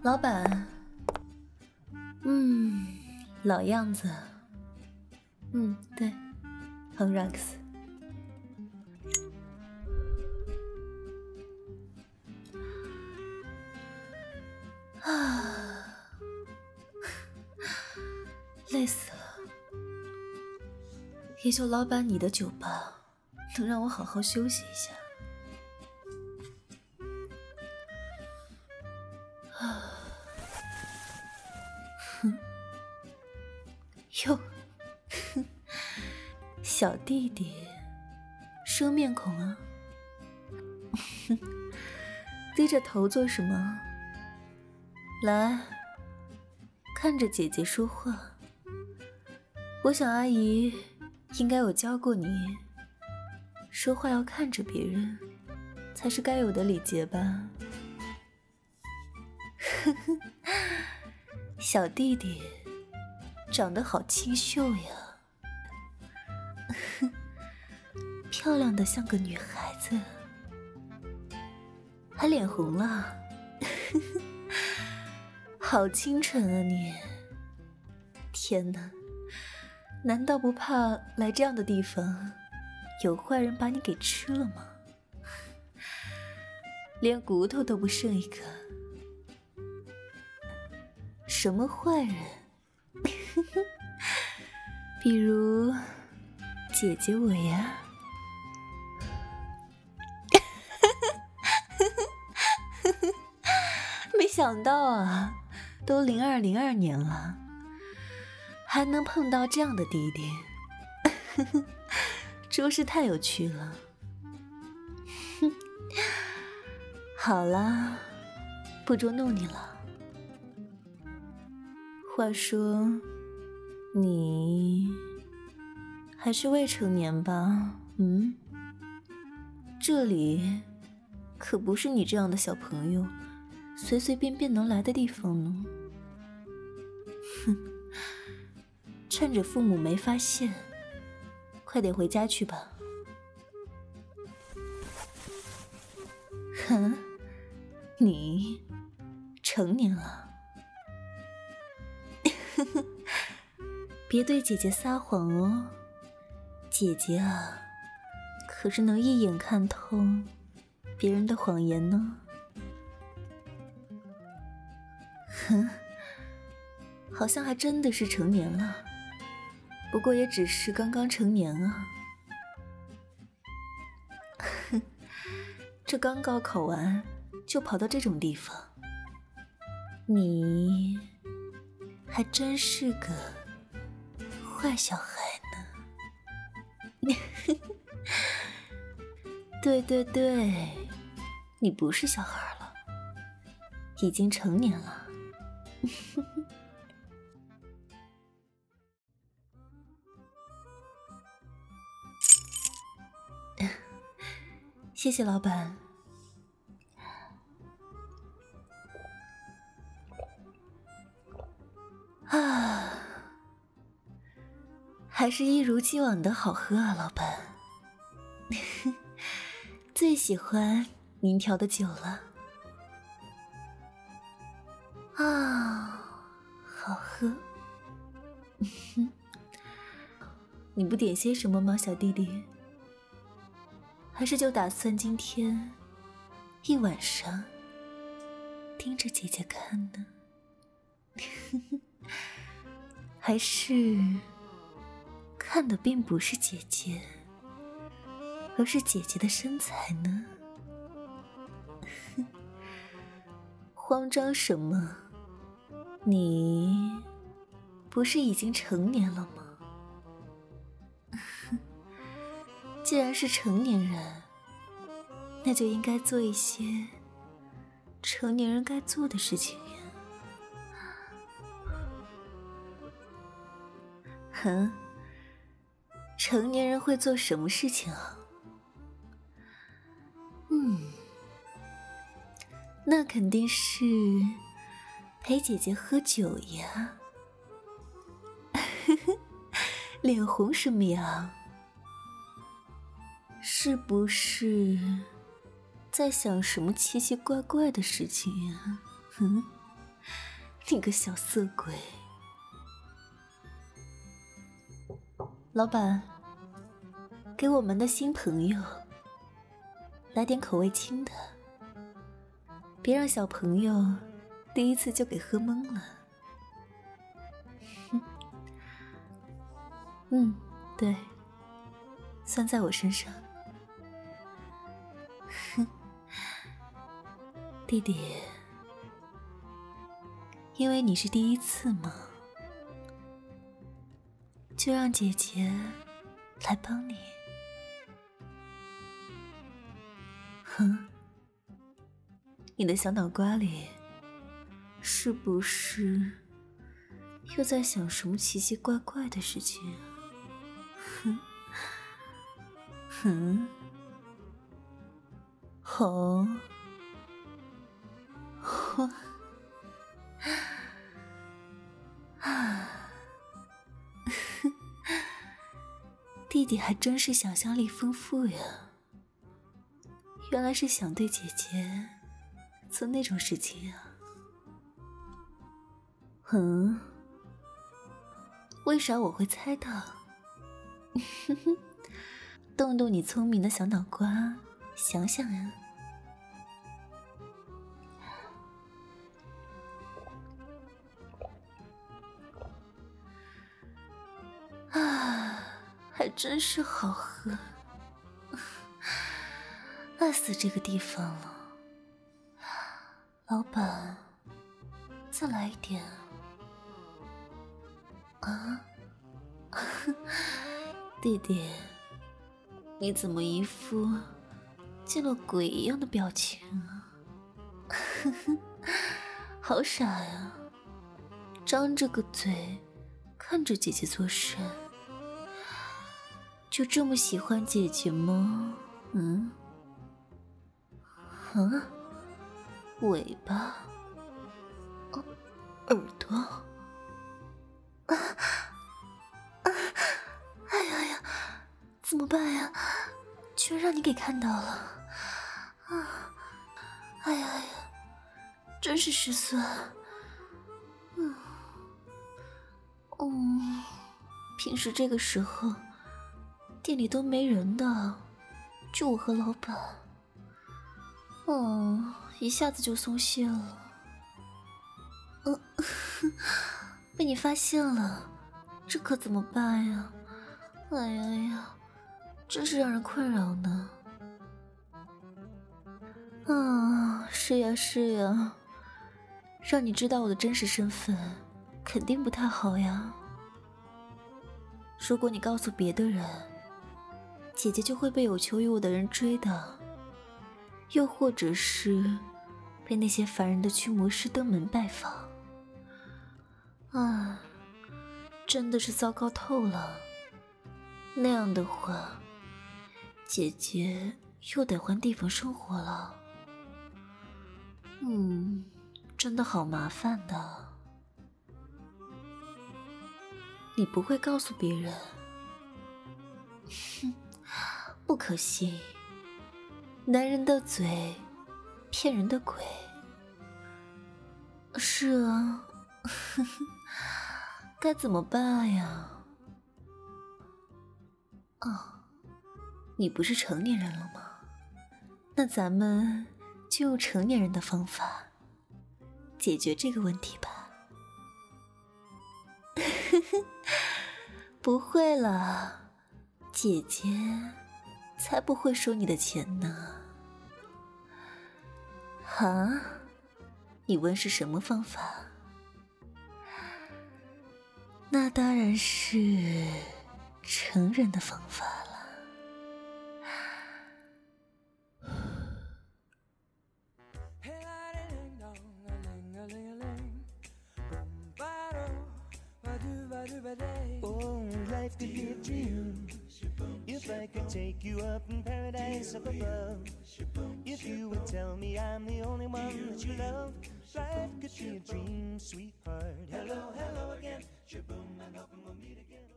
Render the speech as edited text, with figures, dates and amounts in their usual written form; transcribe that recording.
老板，老样子，对，很 Rex。累死了，也就老板你的酒吧能让我好好休息一下。哟，小弟弟，生面孔啊！低着头做什麼？来，看着姐姐說話。我想阿姨应該有教過你，說話要看着別人，才是該有的禮節吧？小弟弟長得好清秀呀，漂亮的像個女孩子，還臉紅了，好清純啊你！天哪，難道不怕來這樣的地方有壞人把你給吃了嗎？連骨頭都不剩一個，什麼壞人？比如姐姐我呀。没想到啊，都02年了，還能碰到這樣的弟弟，着實太有趣了。好了，不捉弄你了。話說，你還是未成年吧？這裡可不是你這樣的小朋友隨隨便便能來的地方呢。趁着父母沒發現，快點回家去吧。你成年了。別對姐姐撒謊哦，姐姐啊，可是能一眼看透別人的謊言呢。好像還真的是成年了，不過也只是剛剛成年啊。這剛高考完就跑到這種地方，你還真是個壞小孩呢。对对对，你不是小孩了，已經成年了。謝謝老板。還是一如既往的好喝啊，老板。最喜歡您調的酒了。好喝。你不點些什麼嗎，小弟弟？還是就打算今天一晚上盯着姐姐看呢？還是看的並不是姐姐，而是姐姐的身材呢？慌張什麼？你不是已經成年了嗎？既然是成年人，那就應該做一些成年人該做的事情呀。成年人會做什麼事情啊？那肯定是陪姐姐喝酒呀。臉紅什麼呀？是不是在想什麼奇奇怪怪的事情呀？ 你個小色鬼！老闆，給我們的新朋友來點口味輕的，別讓小朋友第一次就給喝懵了。对，算在我身上。弟弟，因为你是第一次嘛，就讓姐姐來幫你。你的小腦瓜裡是不是又在想什麼奇奇怪怪的事情啊？好。弟弟還真是想象力豐富呀，原來是想對姐姐做那種事情啊。為啥我會猜到？動動你聰明的小腦瓜，想想呀。还真是好喝，愛死這個地方了。老闆，再來一點啊！弟弟，你怎麼一副見了鬼一樣的表情啊？好傻呀，張着個嘴看着姐姐做事。就這麼喜歡姐姐嗎？尾巴，耳朵，哎呀，怎麼辦呀？居然讓你給看到了，哎呀，真是失算。平時這個時候店裡都沒人的，就我和老闆。一下子就鬆懈了。被你發現了，這可怎麼辦呀？哎呀，真是讓人困擾呢。是呀，讓你知道我的真實身份，肯定不太好呀。如果你告訴別的人，姐姐就會被有求於我的人追的，又或者是被那些煩人的驅魔師登門拜訪。真的是糟糕透了。那樣的話，姐姐又得換地方生活了。真的好麻煩的。你不會告訴別人？不可信，男人的嘴，騙人的鬼。是啊，該怎麼辦呀？你不是成年人了嗎？那咱們就用成年人的方法解決這個問題吧。不會了，姐姐才不會收你的錢呢。你問是什麼方法？那當然是成人的方法了。 Life could be a dream if I could take you up in paradise up above. If you would tell me I'm the only one that you love, life could be a dream, sweetheart. Hello, hello again. Shaboom, and hoping we'll meet again.